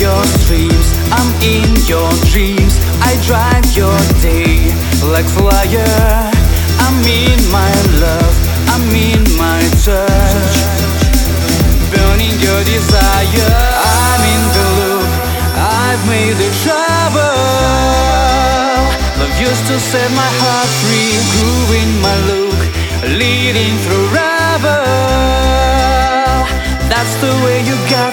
your streams, I'm in your dreams. I drive your day like fire. I'm in my love, I'm in my touch, burning your desire. I'm in the loop, I've made the trouble. Love used to set my heart free, grooving my look, leading through rubble. That's the way you got